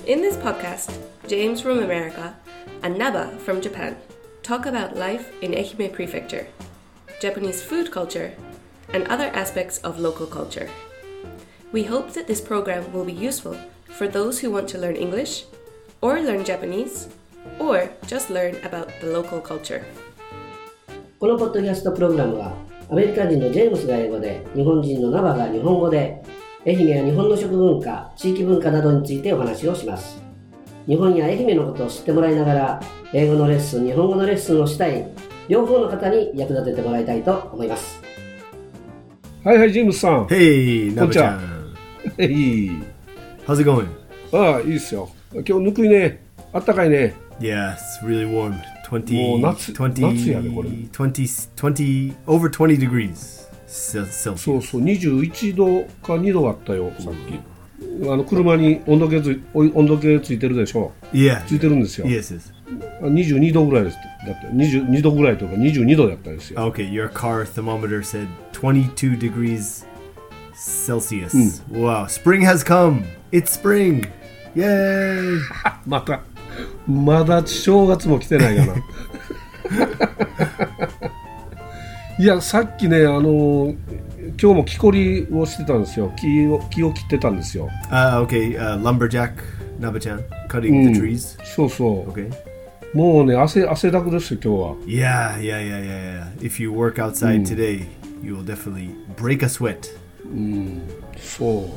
In this podcast, James from America and Naba from Japan talk about life in Ehime Prefecture, Japanese food culture, and other aspects of local culture. We hope that this program will be useful for those who want to learn English, or learn Japanese, or just learn about the local culture. このポッドキャストプログラムはアメリカ人のジェームスが英語で日本人のナバが日本語で愛媛や日本の食文化、地域文化などについてお話をします。日本や愛媛のことを知ってもらいながら英語のレッスン、日本語のレッスンをしたい両方の方に役立ててもらいたいと思います。 はいはい、ジェームスさん。 Hey, Naba-chan. Hey. How's it going? ああ、いいっすよ。今日ぬくいね。あったかいね。 Yeah, it's really warm. もう夏やでこれ。 20 over 20 degrees Celsius. そうそう、21度か2度あったよ、さっき。車に温度計ついてるでしょ。 Yeah. ついてるんですよ。 Yes, yes. 22度ぐらいです。だって22度ぐらいとか22度だったんですよ。 Okay, your car thermometer said 22 degrees Celsius. Wow, spring has come. It's spring. Yay! まだ正月も来てないかな。いや、さっきね、今日も木こりをしてたんですよ。木を切ってたんですよ。 Okay, lumberjack, Naba-chan, cutting the trees. そうそう。 Okay. もうね、汗だくですよ、今日は。 Yeah. If you work outside today, you will definitely break a sweat. そう。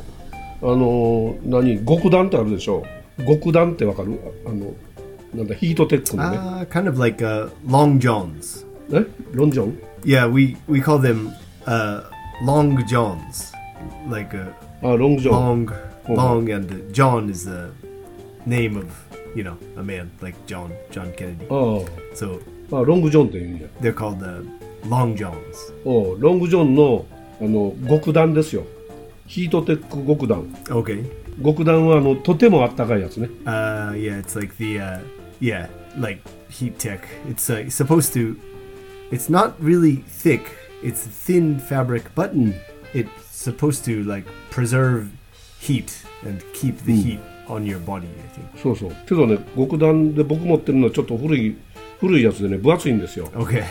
極暖ってあるでしょ。極暖ってわかる？なんだヒートテックのね。 Kind of like long johns. ロンジョン？ Yeah, we call them long johns. Like long john. Long, and John is the name of, a man like John Kennedy. So ロングジョンって言うんや。 they're called long johns. ロングジョンの極暖ですよ。ヒートテック極暖。 Okay. 極暖はとてもあったかいやつね。 Yeah, it's like the like heat tech. It's supposed to. It's not really thick. It's thin fabric, but it's supposed to like preserve heat and keep the heat on your body, I think. そうそう。けどね、極暖で僕持ってるのはちょっと古いやつでね、分厚いんですよ。 Okay.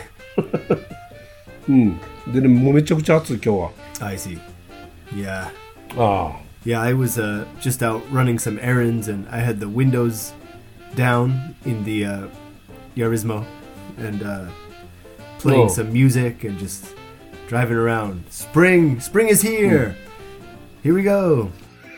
でね、もうめちゃくちゃ暑い今日は。 I see. Yeah. Yeah, I was just out running some errands, and I had the windows down in the Yarismo, and playing some music and just driving around. Spring is here. Here we go.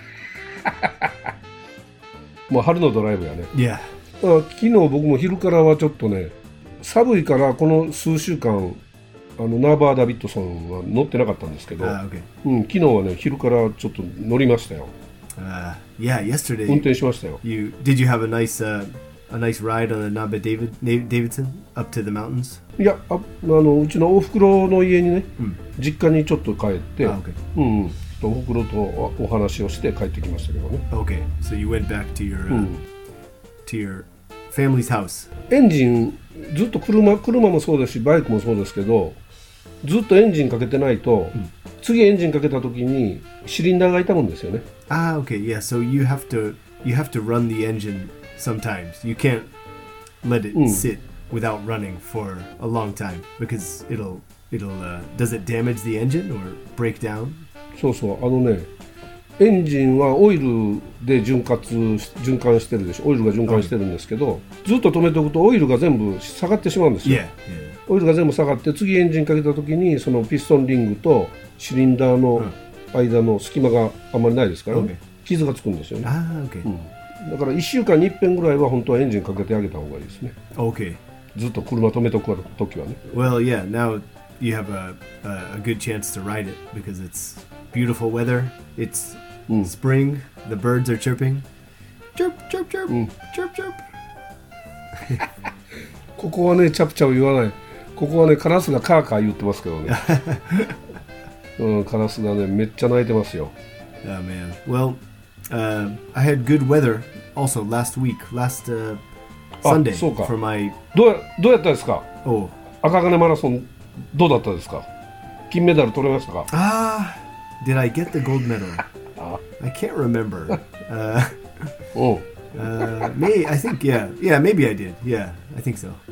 もう春のドライブやね。 Yeah. 昨日僕も昼からはちょっとね、寒いからこの数週間ナーバー・ダビッドソンは乗ってなかったんですけど、 okay. 昨日はね昼からちょっと乗りましたよ。 Yeah, yesterday. 運転しましたよ。 Did you have a nice ride on the Naba Davidson up to the mountains? いや、うちのおふくろの家にね、実家にちょっと帰って、 okay. おふくろとお話をして帰ってきましたけどね。 Okay, so you went back to your family's house. エンジンずっと車もそうですしバイクもそうですけど、ずっとエンジンかけてないと、次エンジンかけた時にシリンダーが痛むんですよね。 Okay, yeah. So you have to run the engine sometimes. You can't let it sit without running for a long time because it'll does it damage the engine or break down? そうそう、エンジンはオイルで循環してるでしょ。オイルが循環してるんですけど、ずっと止めておくとオイルが全部下がってしまうんですよ。オイルが全部下がって次エンジンかけた時にそのピストンリングとシリンダーの間の隙間があんまりないですからね、傷がつくんですよね。だから1週間に1遍ぐらいは本当はエンジンかけてあげた方がいいですね。 Okay. ずっと車止めておく時はね。 Well, yeah. Now you have a good chance to ride it because it's beautiful weather. It's spring. The birds are chirping. Chirp, chirp, chirp. Chirp, chirp. ここはね、チャプチャプ言わない。ここはね、カラスがカーカー言ってますけどね。カラスがね、めっちゃ鳴いてますよ。 Oh man. Well, I had good weather also last Sunday for my. どうやったですか？赤金マラソンどうだったですか？金メダル取れましたか ？Did I get the gold medal? I can't remember. I think, maybe I did. Yeah, I think so.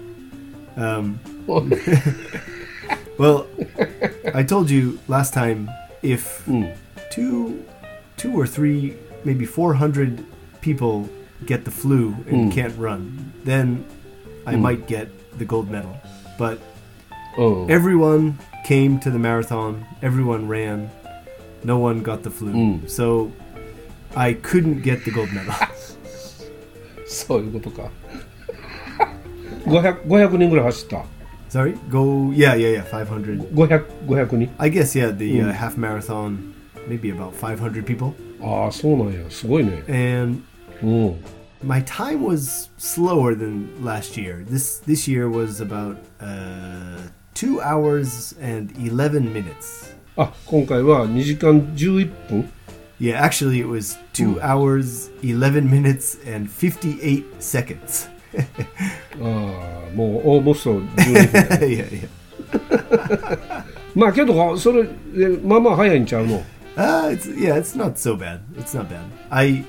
Well, I told you last time if two or three, maybe 400 people get the flu and can't run, then I might get the gold medal. But everyone came to the marathon, everyone ran, no one got the flu. So I couldn't get the gold medal. そういうことか。500人ぐらい走った。 Sorry? Yeah, 500. 500人 I guess, yeah, the half marathon, maybe about 500 people. ああ、そうなんや。すごいね。 And my time was slower than last year. This year was about 2 hours and 11 minutes. あ、今回は2時間11分 Yeah, actually it was 2 hours, 11 minutes, and 58 seconds. ああ、もうオーモスト12分 yeah. まあけどそれまあまあ早いんちゃうの it's not so bad. It's not bad. I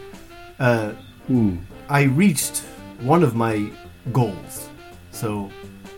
reached one of my goals. So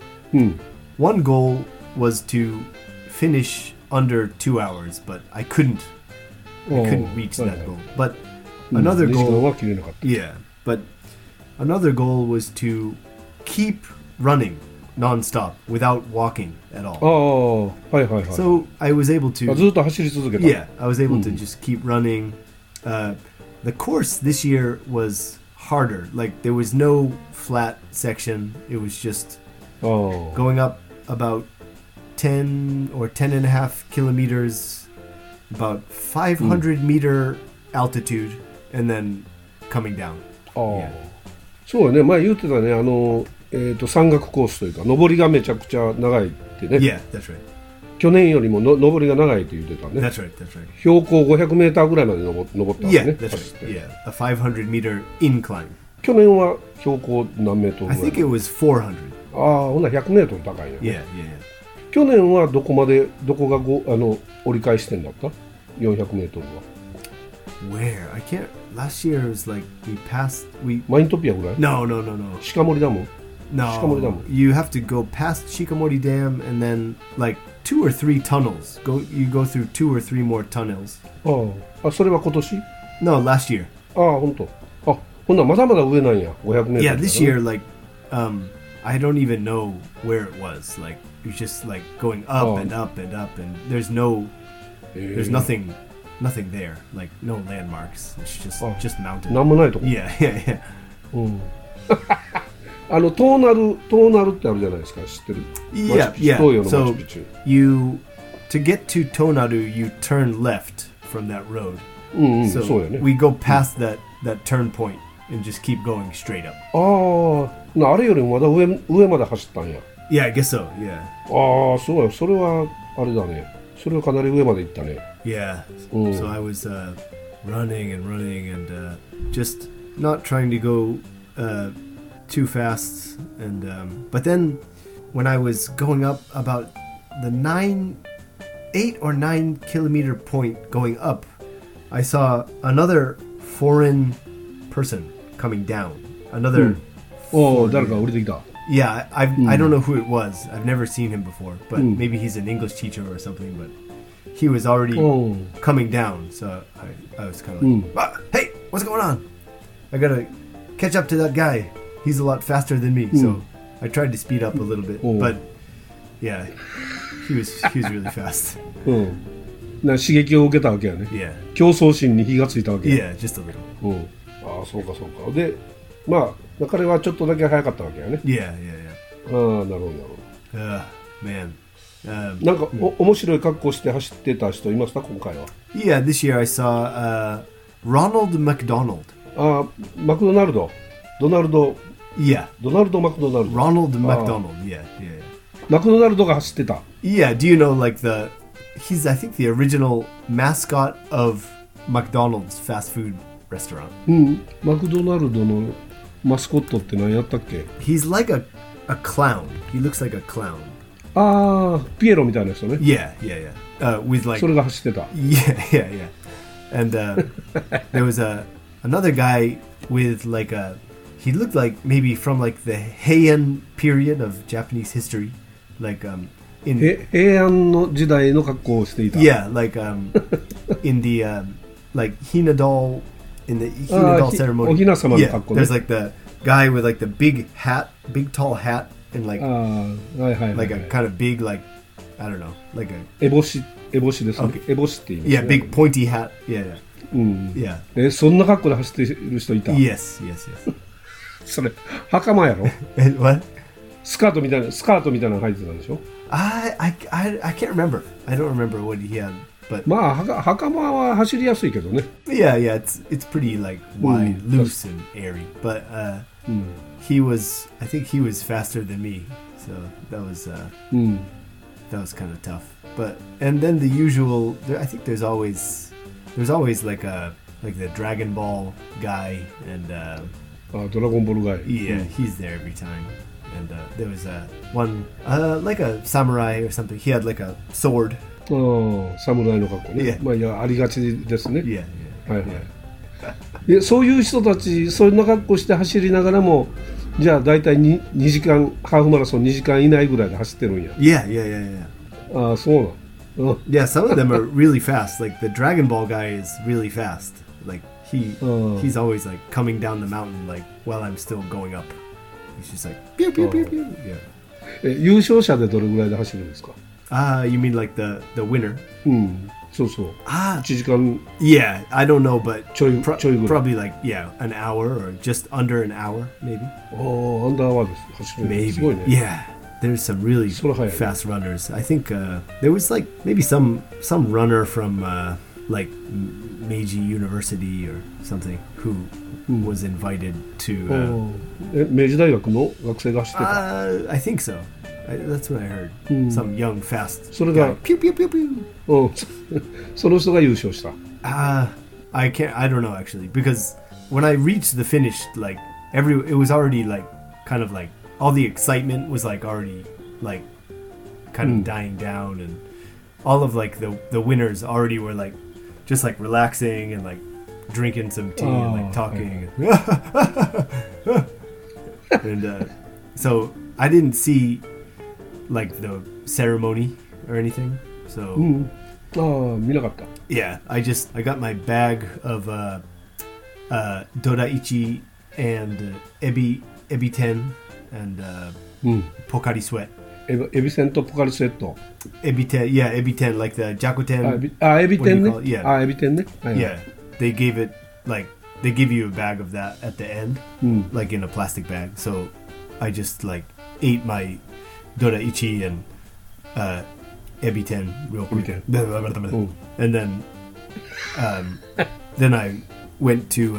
one goal was to finish under 2 hours, but I couldn't reach that goal. But another goal, but another goal was to keep running non-stop without walking at all. ああ、はいはいはい。 So I was able to ずっと走り続けた。 Yeah, I was able to just keep running. The course this year was harder. Like there was no flat section. It was just going up about 10 or 10 and a half kilometers, about 500 meter altitude, and then coming down. ああ、そうよね。前言ってたね。山岳コースというか上りがめちゃくちゃ長いってね。 Yeah, that's right. 去年よりも上りが長いって言ってたね。 That's right, that's right. 標高500メーターぐらいまで登ったんですね。 Yeah, that's right. Yeah, a 500 meter incline. 去年は標高何メートルぐらい I think it was 400. ああ、ほんなら100メートル高いよね。 Yeah. 去年はどこが折り返し点だった400メートルは。 Where? I can't. Last year was like we マイントピアぐらい No. 鹿森ダム No. You have to go past Shikamori Dam and then like 2 or 3 tunnels. You go through 2 or 3 more tunnels. ああ、それは今年 No, last year. ああ、ほんと。あ、ほんならまだまだ上なんや。500メートル。 Yeah, this year like I don't even know where it was. Like you're just like going up and up and up and there's nothing there. Like no landmarks. It's just mountain. なんもないとこ。 Yeah. うん。トーナルってあるじゃないですか。知ってる。 Yeah. So to get to Tonaru, you turn left from that road. そうやね。 We go past that turn point and just keep going straight up. あれよりもまだ上まで走ったんや。 Yeah, I guess so. Yeah. ああ、そうや。それはあれだね。それはかなり上まで行ったね。 Yeah. So I was running and just not trying to go too fast and but then when I was going up about the 8 or 9 kilometer point going up, I saw another foreign person coming down. Another 誰か降りてきた。 Yeah, I don't know who it was. I've never seen him before, but maybe he's an English teacher or something, but he was already coming down, so I was kind of like, hey, what's going on? I gotta catch up to that guy. He's a lot faster than me, so I tried to speed up a little bit, but yeah, he was really fast. 刺激を受けたわけやね。 Yeah. 競争心に火がついたわけや。 Yeah, just a little. ああ、そうか。で、まあ彼はちょっとだけ早かったわけやね。 Yeah. ああ、なるほど。 Man. なんか面白い格好して走ってた人いました今回は。 Yeah, this year I saw Ronald McDonald. マクドナルド。ドナルド。 Yeah. ドナルド・マクドナルド。 Ronald McDonald. Yeah. マクドナルドが走ってた。 Yeah. Do you know like he's I think the original mascot of McDonald's fast food restaurant. マクドナルドのマスコットって何やったっけ？ He's like a clown. He looks like a clown. ピエロみたいな人ね。 Yeah. With like それが走ってた。 Yeah. And there was another guy with like a. He looked like maybe from like the Heian period of Japanese history, like in 平安の時代の格好をしていた。 yeah, like in the like Hinadol in the Hinadol ceremony. お雛様の Yeah, 格好ね。 there's like the guy with like the big hat, big tall hat, and like はいはいはい。 like a kind of big like I don't know, like a 烏帽子ですね。 Okay. 烏帽子って言いますね。 yeah, big pointy hat. Yeah, うん。 yeah, yeah. そんな格好で走ってる人いた。 Yes, yes, yes. それ袴やろ。 What? スカートみたいなの履いてたんでしょ。 I can't remember. I don't remember what he had, but まあ袴は走りやすいけどね。 yeah, it's pretty like wide, loose and airy. But he was, I think he was faster than me, so that was うん。 that was kind of tough. But and then the usual, I think there's always like the Dragon Ball guy, and ドラゴンボールガイ。 yeah, he's there every time. And there was one like a samurai or something. He had like a sword. 侍の格好ね。 Yeah. まあいやありがちですね。 Yeah, yeah. はいはい。でそういう人たちそんな格好して走りながらもじゃあ大体 2時間ハーフマラソン2時間以内ぐらいで走ってるんや。 Yeah, yeah, yeah, yeah. ああそうなん。うん Yeah, some of them are really fast. Like the Dragon Ball guy is really fast. Like he's always like coming down the mountain like while I'm still going up. He's just like pew pew pew pew. Yeah. 優勝者でどれぐらいで走るんですか。 You mean like the winner? うんそうそう。1時間 Yeah, I don't know, but ちょいぐらい。 probably like an hour or just under an hour, maybe. アンダーワーです走る。 Maybe. すごいね。 Yeah. There's some really So high. fast runners. I think there was like maybe some runner from like Meiji University or something who was invited to. 明治大学の学生が走ってた。 I think so. That's what I heard. Some young fast. それが guy. Pew pew pew pew. うんその人が優勝した。 I don't know actually because when I reached the finish, like it was already like kind of like all the excitement was like already like kind of dying down, and all of like the winners already were like just like relaxing and like drinking some tea and like talking. And so I didn't see like the ceremony or anything. So 見なかった。 yeah, I got my bag of Dodaichi and Ebiten and Pocari Sweat. エビせんとポカリスエット。 Ebiten, yeah, Ebiten, like the Jakuten. エビ天ね What do you call it? Yeah. エビ天ね。はいはい Yeah, they gave it like they give you a bag of that at the end, like in a plastic bag. So I just like ate my Dodaichi and Ebiten real quick, Ebiten. and then I went to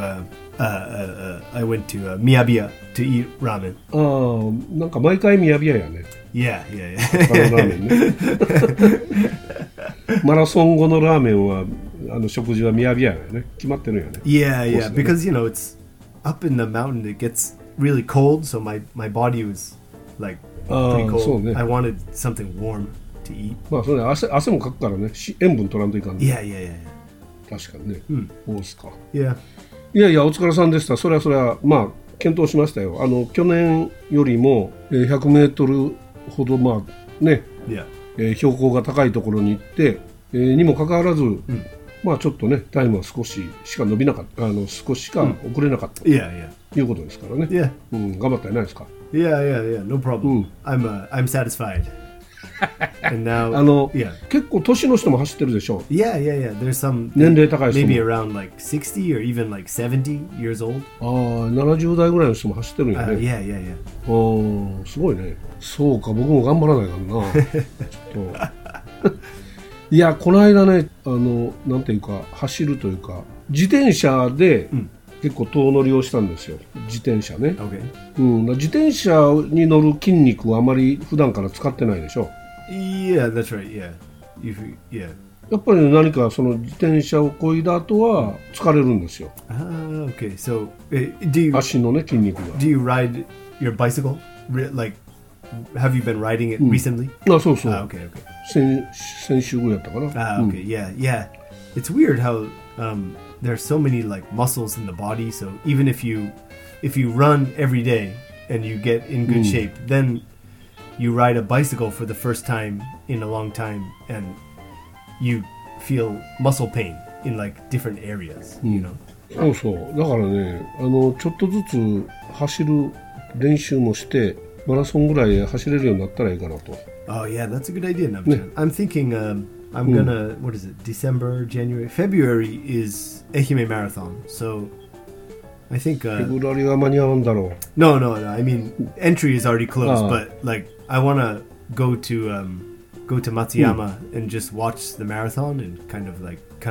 Miyabiya to eat ramen. なんか毎回ミヤビヤやね。 Yeah, yeah, あの yeah. ラーメンね。マラソン後のラーメンは食事はミヤビヤやね。決まってるよね。 Yeah, yeah, Mostly. because it's up in the mountain. It gets really cold, so my body was like pretty cold. そうね。 I wanted something warm to eat. まあそれね汗もかくからね。塩分取らんといかんね。 Yeah, yeah, yeah, 確かにね。そうですか。 yeah. いやいやお疲れさんでした。それはまあ検討しましたよ。去年よりも100メートルほどまあね、 Yeah. 標高が高いところに行って、にもかかわらず、まあちょっとねタイムは少ししか伸びなかった、少ししか遅れなかったと Yeah, yeah. いうことですからね。 Yeah. 頑張ったじゃないですか。 Yeah, yeah, yeah. No problem. I'm satisfied. And now, yeah. 結構年の人も走ってるでしょ。 Yeah, yeah, yeah. There's some 年齢高い人も maybe around like 60 or even like 70 years old. 70代ぐらいの人も走ってるんやね。 Yeah, yeah, yeah. すごいね。そうか、僕も頑張らないからな。ちょっと。いや、この間ね、なんていうか、走るというか、自転車で結構遠乗りをしたんですよ。自転車ね。 Okay. 自転車に乗る筋肉はあまり普段から使ってないでしょ。 Yeah, that's right. Yeah. Yeah. やっぱり何かその自転車を漕いだ後は疲れるんですよ。 Okay. So, do 足のね、筋肉が。 you ride your bicycle? Like, have you been riding it recently? そうそう。 Okay, okay. 先週ぐらいやったかな。 Okay, yeah, yeah. it's weird how there are so many like muscles in the body. So even if you run every day and you get in good shape, then you ride a bicycle for the first time in a long time and you feel muscle pain in like different areas, you know. そうそう。だからね、ちょっとずつ走る練習もしてマラソンぐらい走れるようになったらいいかなと。 Oh yeah, that's a good idea, Navchan. I'm thinking I'm gonna, what is it, December, January, February is Ehime Marathon. So I think フェブラリは間に合うんだろう。 No, I mean entry is already closed, but like I wanna go to Matsuyama and just watch the marathon and kind of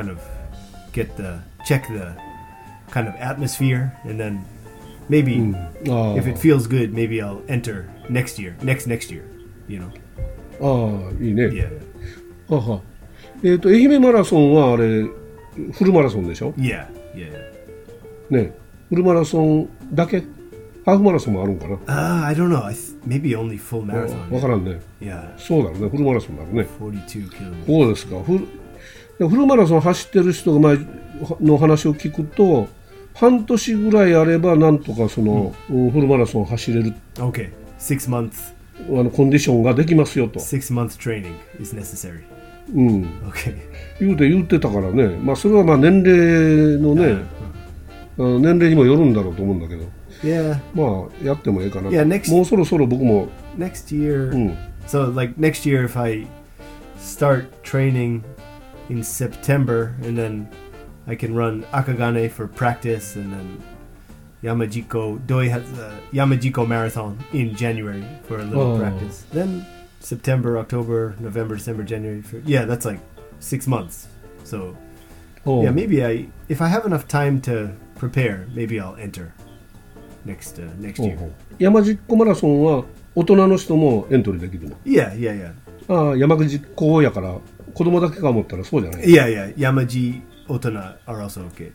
check the kind of atmosphere, and then maybe if it feels good, maybe I'll enter next year, you know. ああ、いいね。 Yeah. はは。愛媛マラソンはあれフルマラソンでしょ？ Yeah. ね、フルマラソンだけ？ハーフマラソンもあるんかな？ I don't know. Maybe only full marathon. わからんね。 Yeah. そうだろうね。フルマラソンだろうね。 42 kilometers. そうですか。フルマラソン走ってる人が前の話を聞くと、半年ぐらいあればなんとかその、フルマラソン走れる。 Okay. 6 months. コンディションができますよと。 6 months training is necessary. Okay. 言ってたからね。まあそれはまあ年齢のね、年齢にもよるんだろうと思うんだけど。 Yeah. まあやってもいいかな。 Yeah, もうそろそろ僕も。 Next year. So like next year, if I start training in September, and then I can run Akagane for practice, and then Doi has a Yamajiko marathon in January for a little practice. Then September, October, November, December, January. That's like 6 months. So yeah, maybe if I have enough time to prepare, maybe I'll enter next year. 山実マラソンは大人の人もエントリーできるの？ Yeah. ああ、山実やから子供だけか思ったらそうじゃない？ Yeah. Yamaji Otona are also okay.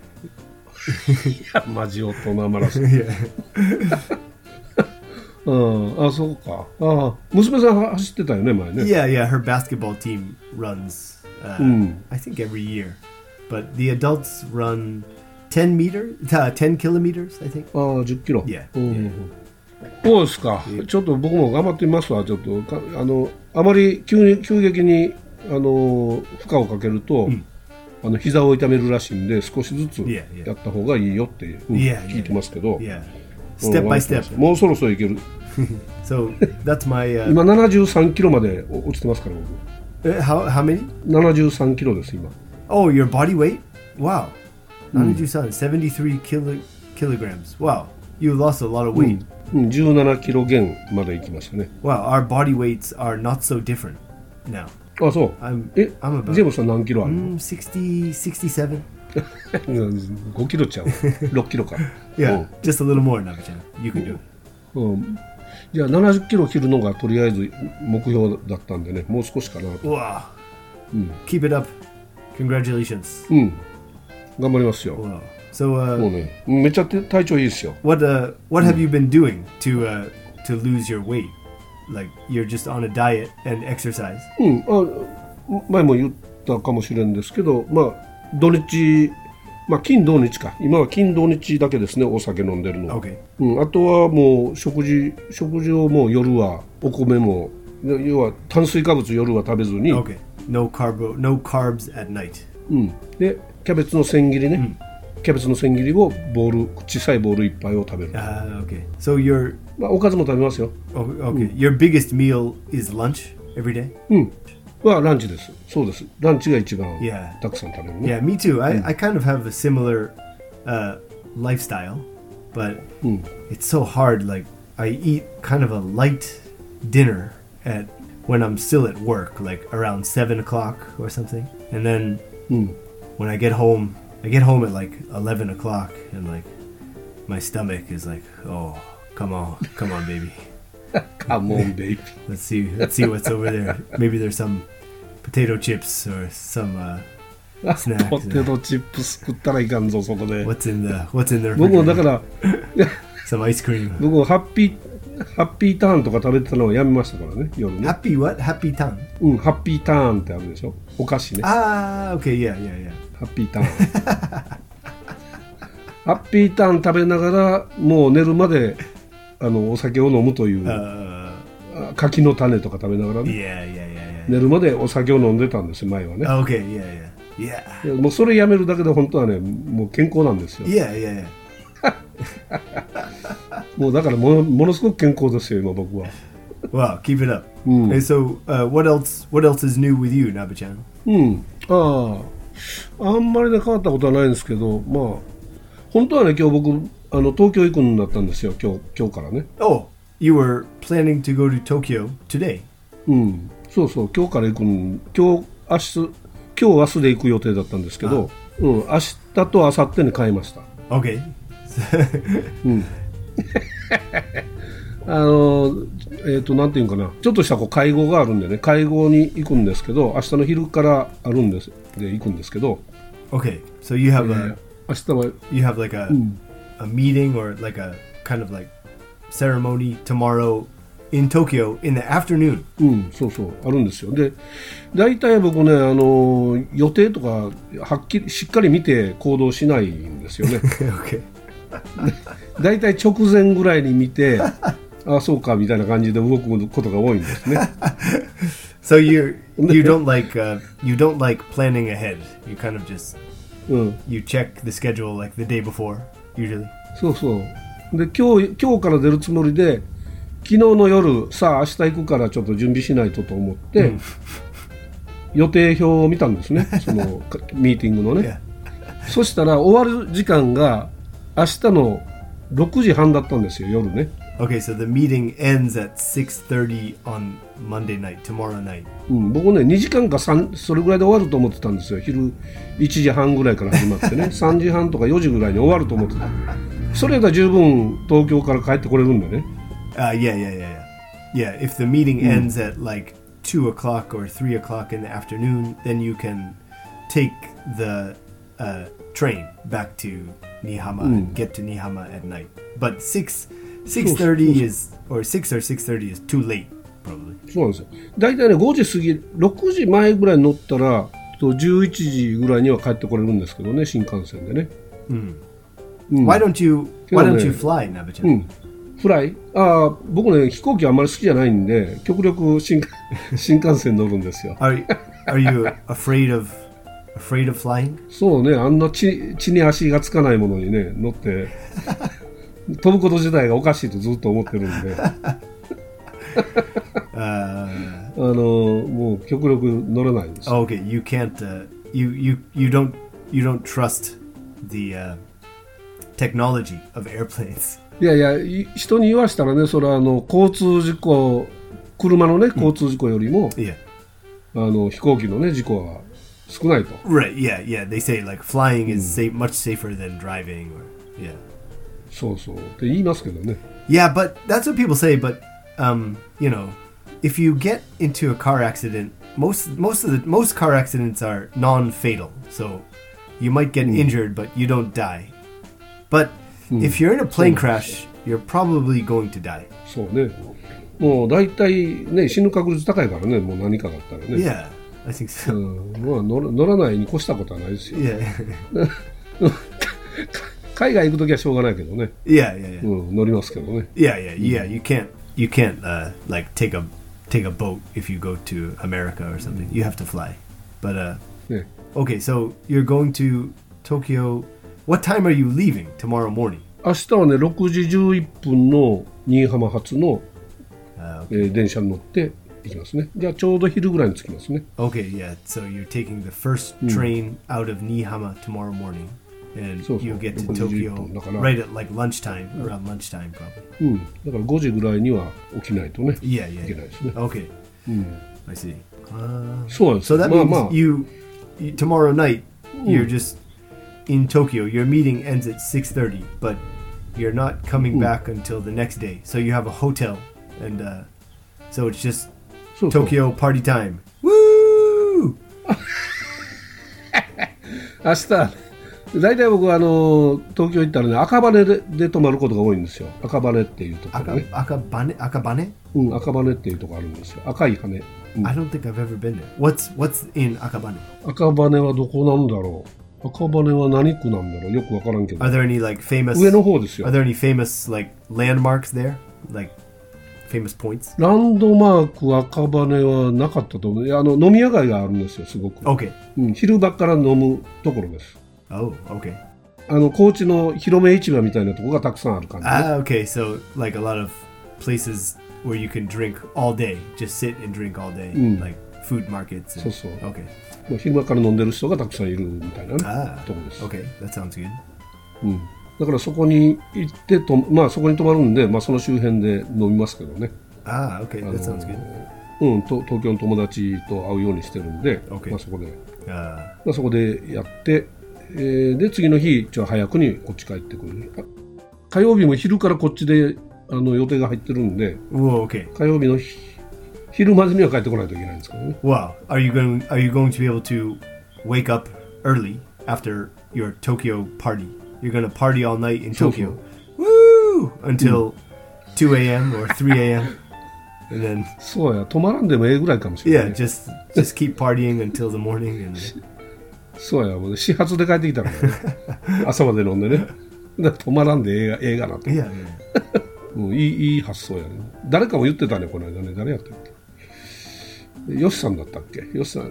山地大人マラソン。 Yeah. あ、そうか。ああ、娘さん走ってたよね前ね。 Yeah. Her basketball team runs. I think every year, but the adults run 10 kilometers. I think. ああ、10キロ。 Yeah. そうですか。ちょっと僕も頑張ってみますわ。ちょっとあまり急激に負荷をかけると、膝を痛めるらしいんで少しずつやった方がいいよって聞いてますけど。 Step by step. もうそろそろいける。 So that's my. 今73キロまで落ちてますから僕。 How many? 73キロです今。 Oh, your body weight? Wow. 73 kilograms. Wow. You lost a lot of weight. 17キロ減まで行きましたね。 Wow, our body weights are not so different now. あ、そう。 I'm ジ about ェームスさん何キロあるの 67. 5キロちゃう。6キロか。 Yeah, just a little more, Navchan. You can do it. じゃあ70キロ切るのがとりあえず目標だったんでね、もう少しかなと。 Wow. Keep it up. Congratulations. 頑張りますよ。 Wow. So, もうね、めっちゃ体調いいですよ。 What have you been doing to lose your weight? Like you're just on a diet and exercise? 前も言ったかもしれんですけど、まあ土日、金土日か。今は金土日だけですね、お酒飲んでるのは。 Okay. あとはもう食事をもう夜はお米も、要は炭水化物夜は食べずに。 Okay. No carbs at night. でキャベツの千切りね。キャベツの千切りを小さいボール1杯を食べる。 Okay. So your おかずも食べますよ。 Okay. Your biggest meal is lunch every day? はランチです。そうです。ランチが一番たくさん食べるね。 Yeah, me too. I kind of have a similar lifestyle, but it's so hard. Like I eat kind of a light dinner when I'm still at work, like around 7 o'clock or something. And then when I get home at like 11 o'clock, and like my stomach is like, oh, come on, baby. Come on, baby. Let's see what's over there. Maybe there's some potato chips or some snack. ポテトチップス食ったらいかんぞそこで。 What's in there? 僕もだから some ice cream. 僕もハッピハッピーターンとか食べてたのはやめましたからね、夜ね。 Happy what? Happy tongue? うん、ハッピーターンってあるでしょ、お菓子ね。 Ah, okay, yeah. ハッピーターン。ハッピーターン食べながらもう寝るまでお酒を飲むという、柿の種とか食べながらね、寝るまでお酒を飲んでたんですよ、前はね。 Okay, yeah. もうそれやめるだけで本当はね、もう健康なんですよ。 Yeah. もうだからものすごく健康ですよ、今僕は。 Wow, keep it up. And so, what else is new with you, Naba-chan? あんまりね変わったことはないんですけど、まあ本当はね今日僕東京行くになったんですよ、今日からね。 Oh, you were planning to go to Tokyo today? そうそう、今日から行く今日明日で行く予定だったんですけど、明日と明後日に変えました。 Okay. なんていうかな、ちょっとした会合があるんでね、会合に行くんですけど、明日の昼からあるんですで行くんですけど。 Okay, so you have 明日は you have like a meeting or like a kind of like ceremony tomorrow in Tokyo in the afternoon. そうそうあるんですよ。で、大体僕ね予定とかはっきりしっかり見て行動しないんですよね。 Okay. 大体直前ぐらいに見てあそうかみたいな感じで動くことが多いんですね。 So you don't like planning ahead. You kind of just you check the schedule like the day before usually. そうそう。で今日から出るつもりで、昨日の夜さあ明日行くからちょっと準備しないとと思って、予定表を見たんですね。そのミーティングのね。そしたら終わる時間が明日の6時半だったんですよ、夜ね。 Okay, so the meeting ends at 6:30 on Monday night, tomorrow night. 僕ね、2時間かそれぐらいで終わると思ってたんですよ。昼1時半ぐらいから始まってね、3時半とか4時ぐらいに終わると思ってた。それだったら十分東京から帰ってこれるんでね。 Yeah. If the meeting ends at like 2 o'clock or 3 o'clock in the afternoon, then you can take the train back to Nihama and get to Nihama at night. But 6:30 is or 6:30 is too late, probably. そうなんですよ。だいたいね5時過ぎ、6時前ぐらいに乗ったら11時ぐらいには帰ってこれるんですけどね、新幹線でね。 Why don't you fly, Naba-chan? フライ？僕ね飛行機あんまり好きじゃないんで、極力新幹線乗るんですよ。 Are you afraid of flying? そうね、あんな地に足がつかないものにね乗って飛ぶこと自体がおかしいとずっと思ってるんでもう極力乗れないんです。 Okay, you can't. You don't trust the technology of airplanes. いや人に言わしたらね、それは交通事故、車のね交通事故よりも、飛行機のね事故は少ないと。 Right, yeah. They say like flying is much safer than driving. Yeah. そうって言いますけどね。 Yeah, but that's what people say. But you know, if you get into a car accident, most car accidents are non-fatal. So you might get injured, but you don't die. But if you're in a plane crash, you're probably going to die. そうね。もう大体ね死ぬ確率高いからね、もう何かだったらね。 Yeah, I think so. まあ乗らないに越したことはないですよ。 Yeah. 海外行くときはしょうがないけどね。 Yeah. 乗りますけどね。 Yeah. You can't like take a boat if you go to America or something. You have to fly. But okay, so you're going to Tokyo. What time are you leaving tomorrow morning? 明日はね6時11分の新居浜発の、電車に乗って行きますね。じゃあちょうど昼ぐらいに着きますね。 Okay, yeah. So you're taking the first train out of Nihama tomorrow morning, and you get to Tokyo right at like lunchtime, around lunchtime probably. だから5時ぐらいには起きないとね。 Yeah. いけないですね。 Okay. I see. そうなんです。 So that means you tomorrow night you're just in Tokyo. Your meeting ends at 6:30, but you're not coming back until the next day. So you have a hotel, and so it's just Tokyo party time. Woo! 明日大体僕は東京行ったらね、赤羽で泊まることが多いんですよ。赤羽っていうところね。 赤羽？ うん、赤羽っていうところあるんですよ。赤い羽。 I don't think I've ever been there. What's in 赤羽？ 赤羽はどこなんだろう。赤羽は何区なんだろう。よくわからんけど。 Are there any like famous? 上の方ですよ。 Are there any famous like landmarks there? Like famous points? ランドマーク赤羽はなかったと思う。飲み屋街があるんですよ、すごく。 Okay. うん、昼間から飲むところです。 Oh, okay. 高知の広め市場みたいなところがたくさんある感じ、ね。 Okay. So like a lot of places where you can drink all day, just sit and drink all day, like food markets. そうそう。 Okay. 昼間から飲んでる人がたくさんいるみたいな、ね、ところです。 Okay, that sounds good. うん。だからそこに行ってまあそこに泊まるんで、まあその周辺で飲みますけどね。 Okay, that sounds good. うん、東京の友達と会うようにしてるんで、 Okay. まあそこで、まあそこでやって、で次の日早くにこっち帰ってくる。火曜日も昼からこっちで予定が入ってるんで、 Okay. 火曜日の昼までには帰ってこないといけないんですけどね。 Wow. Are you going to be able to wake up early after your Tokyo party? You're going to party all night in Tokyo. Woo! Until 2 a.m. or 3 a.m. And then そうや、止まらんでもええぐらいかもしれない、 ね。Yeah, just keep partying until the morning. And そうや、もう始発で帰ってきたからね。朝まで飲んでね。だから止まらんでええがなと。 Yeah, yeah. もういい発想やね。誰かも言ってたね、この間ね。誰やったっけ？ヨシさんだったっけ？ヨシさん。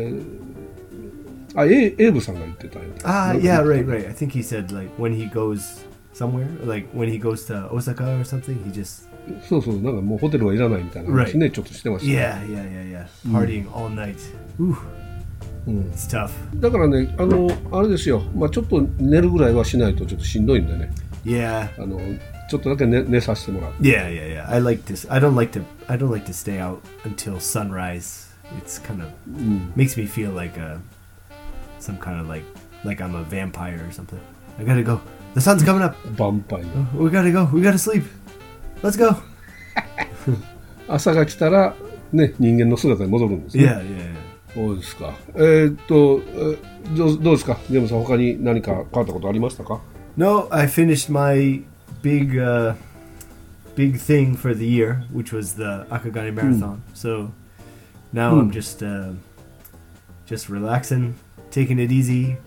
エイブさんが言ってたよ。 Yeah, right. I think he said like when he goes somewhere, like when he goes to Osaka or something, he just そう、なんかもうホテルはいらないみたいな話ね、ちょっとしてました、 ね。Yeah. Partying all night. It's tough. だからね、あれですよ。まあちょっと寝るぐらいはしないとちょっとしんどいんでね。 Yeah. ちょっとだけ寝させてもらう。 Yeah. I like this. I don't like to stay out until sunrise. It's kind of makes me feel like some kind of like I'm a vampire or something. I gotta go. The sun's coming up. ヴァンパイア。 We gotta go. We gotta sleep. Let's go. 朝が来たらね、人間の姿に戻るんですね。 Yeah. そうですか。どうですか、ジェームさん、他に何か変わったことありましたか？ No, I finished my big thing for the year, which was the Akagane Marathon. So now I'm just relaxing, taking it easy.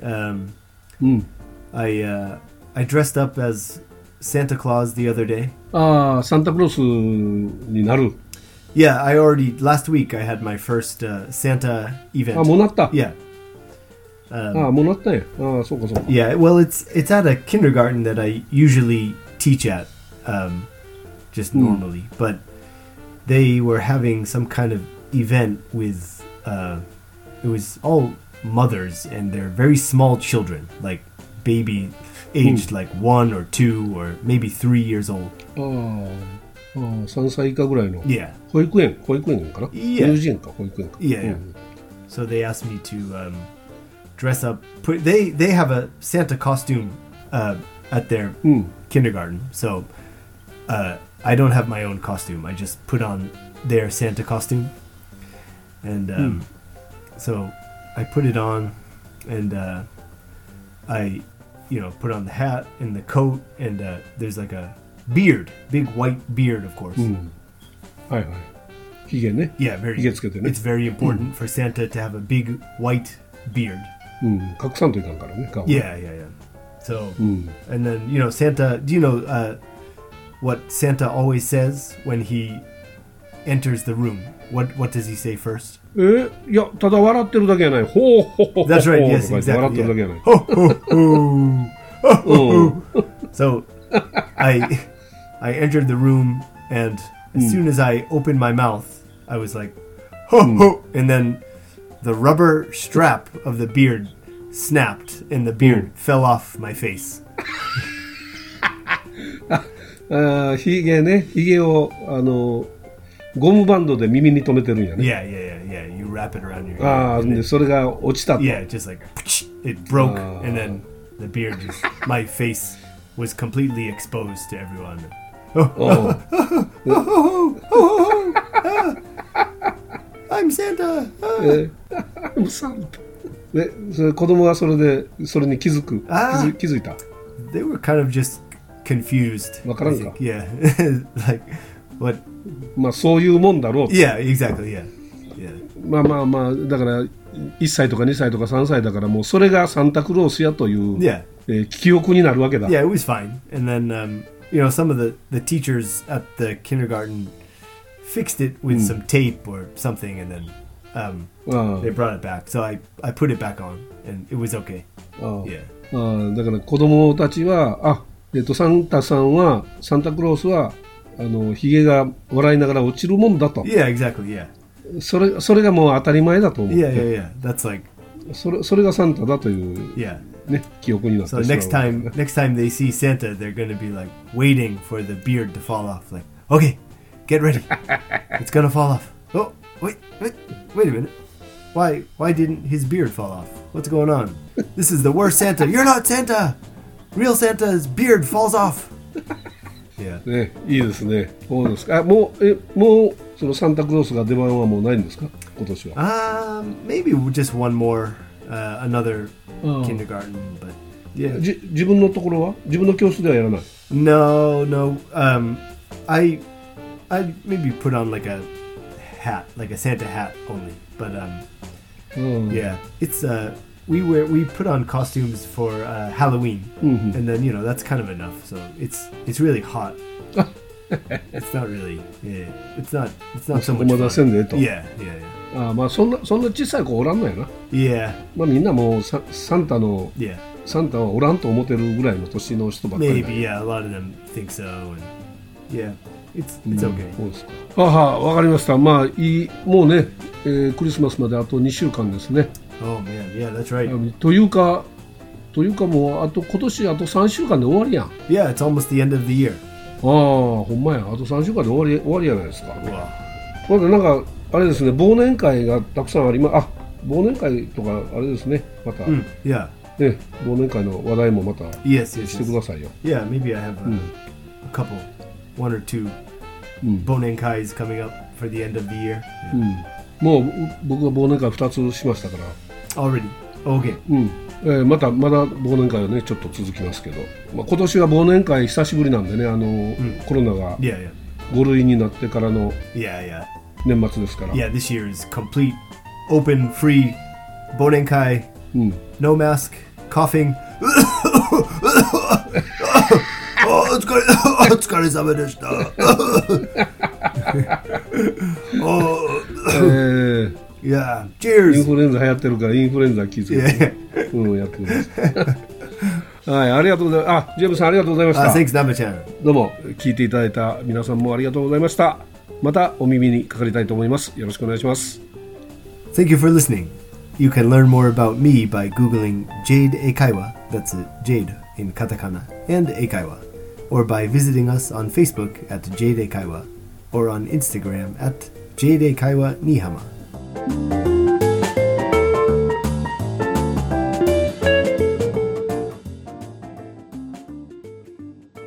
I dressed up as Santa Claus the other day. サンタクロースになる。 Yeah, last week I had my first Santa event. もうなった。 Yeah. もうなったんや。そうか。 Yeah, well, it's at a kindergarten that I usually teach at, just normally. But they were having some kind of event with, it was all mothers and they're very small children, like baby aged like 1 or 2 or maybe 3 years old. 3歳以下ぐらいの。 Yeah. 保育園かな？ Yeah. 幼稚園か、保育園か。 Yeah. So they asked me to dress up. They have a Santa costume at their kindergarten. So I don't have my own costume. I just put on their Santa costume. And so I put it on and I put on the hat and the coat and there's like a beard, big white beard, of course. はい。ひげね。 Yeah, ひげつけてね。 It's very important for Santa to have a big white beard. 隠さんといかんからね。 Yeah. So, and then Santa. Do you know what Santa always says when he enters the room? What does he say first? いや、ただ笑ってるだけやない。ほうほほほ。 That's right. Yes, 笑ってるだけやない。 Ho ho ho. So I entered the room and as soon as I opened my mouth, I was like, ho ho, and then the rubber strap of the beard snapped and the beard fell off my face. ひげをゴムバンドで耳に留めてるんやね。 Yeah. You wrap it around your head. でそれが落ちたと。 Yeah, just like it broke, and then the beard my face was completely exposed to everyone. I'm Santa. I'm Santa. で、それ子供はそれに気づいた。 They were kind of just confused. わからんか。 Yeah. Like, what? まあそういうもんだろう。 Yeah, exactly, yeah. まあだから1歳とか2歳とか3歳だからもうそれがサンタクロースやという、記憶になるわけだ。 Yeah, it was fine. And then, some of the teachers at the kindergarten fixed it with some tape or something, and then they brought it back. So I put it back on, and it was okay. Yeah. だから子供たちはサンタさんはサンタクロースはひげが笑いながら落ちるもんだと。 Yeah, exactly. Yeah. それがもう当たり前だと思う。 Yeah. That's like それがサンタだという、ね、記憶になってしまう。 So next time they see Santa, they're going to be like waiting for the beard to fall off. Like, okay, get ready. It's going to fall off. Oh, wait a minute. Why didn't his beard fall off? What's going on? This is the worst Santa. You're not Santa. Real Santa's beard falls off. Yeah. ね、いいですね。そうですか。もうそのサンタクロースが出番はもうないんですか？今年は。 Maybe just one more, another kindergarten, but yeah. 自分のところは？自分の教室ではやらない。 No. I maybe put on like a hat, like a Santa hat only, but yeah, it's we put on costumes for Halloween, and then that's kind of enough. So it's really hot. It's not really. Yeah, it's not so much fun. Yeah. まあそんな小さい子おらんのやな。 Yeah. まあみんなもうサンタはおらんと思ってるぐらいの年の人ばっかり。 Maybe yeah, a lot of them think so, and yeah, it's okay. そうですか。わかりました。まあもうね、クリスマスまであと2週間ですね。 Oh man, yeah, that's right. というかもう今年あと3週間で終わりやん。 Yeah, it's almost the end of the year. ほんまや。あと3週間で終わりじゃないですか。まだなんかあれですね、忘年会がたくさんあり忘年会とかあれですね、また、 yeah. ね、忘年会の話題もまた yes. してくださいよ。 Yeah, maybe I have a couple, one or two 忘年会 coming up for the end of the year. もう僕は忘年会2つしましたから。 Already? Okay. まだ忘年会はねちょっと続きますけど、今年は忘年会久しぶりなんでね、コロナが5類になってからの年末ですから。 Yeah, this year is complete open free 忘年会、no mask, coughing. お疲れ様でした。Yeah, cheers. インフルエンザ流行ってるからインフルエンザ気づけて、やってください。はい、ありがとうございます。ジェームスさんありがとうございました。 Thanks, Namba-chan. どうも聞いていただいた皆さんもありがとうございました。またお耳にかかりたいと思います。よろしくお願いします。 Thank you for listening. You can learn more about me by googling Jade Eikaiwa. That's Jade in katakana and Eikaiwa, or by visiting us on Facebook at Jade Eikaiwa, or on Instagram at Jade Eikaiwa Nihama.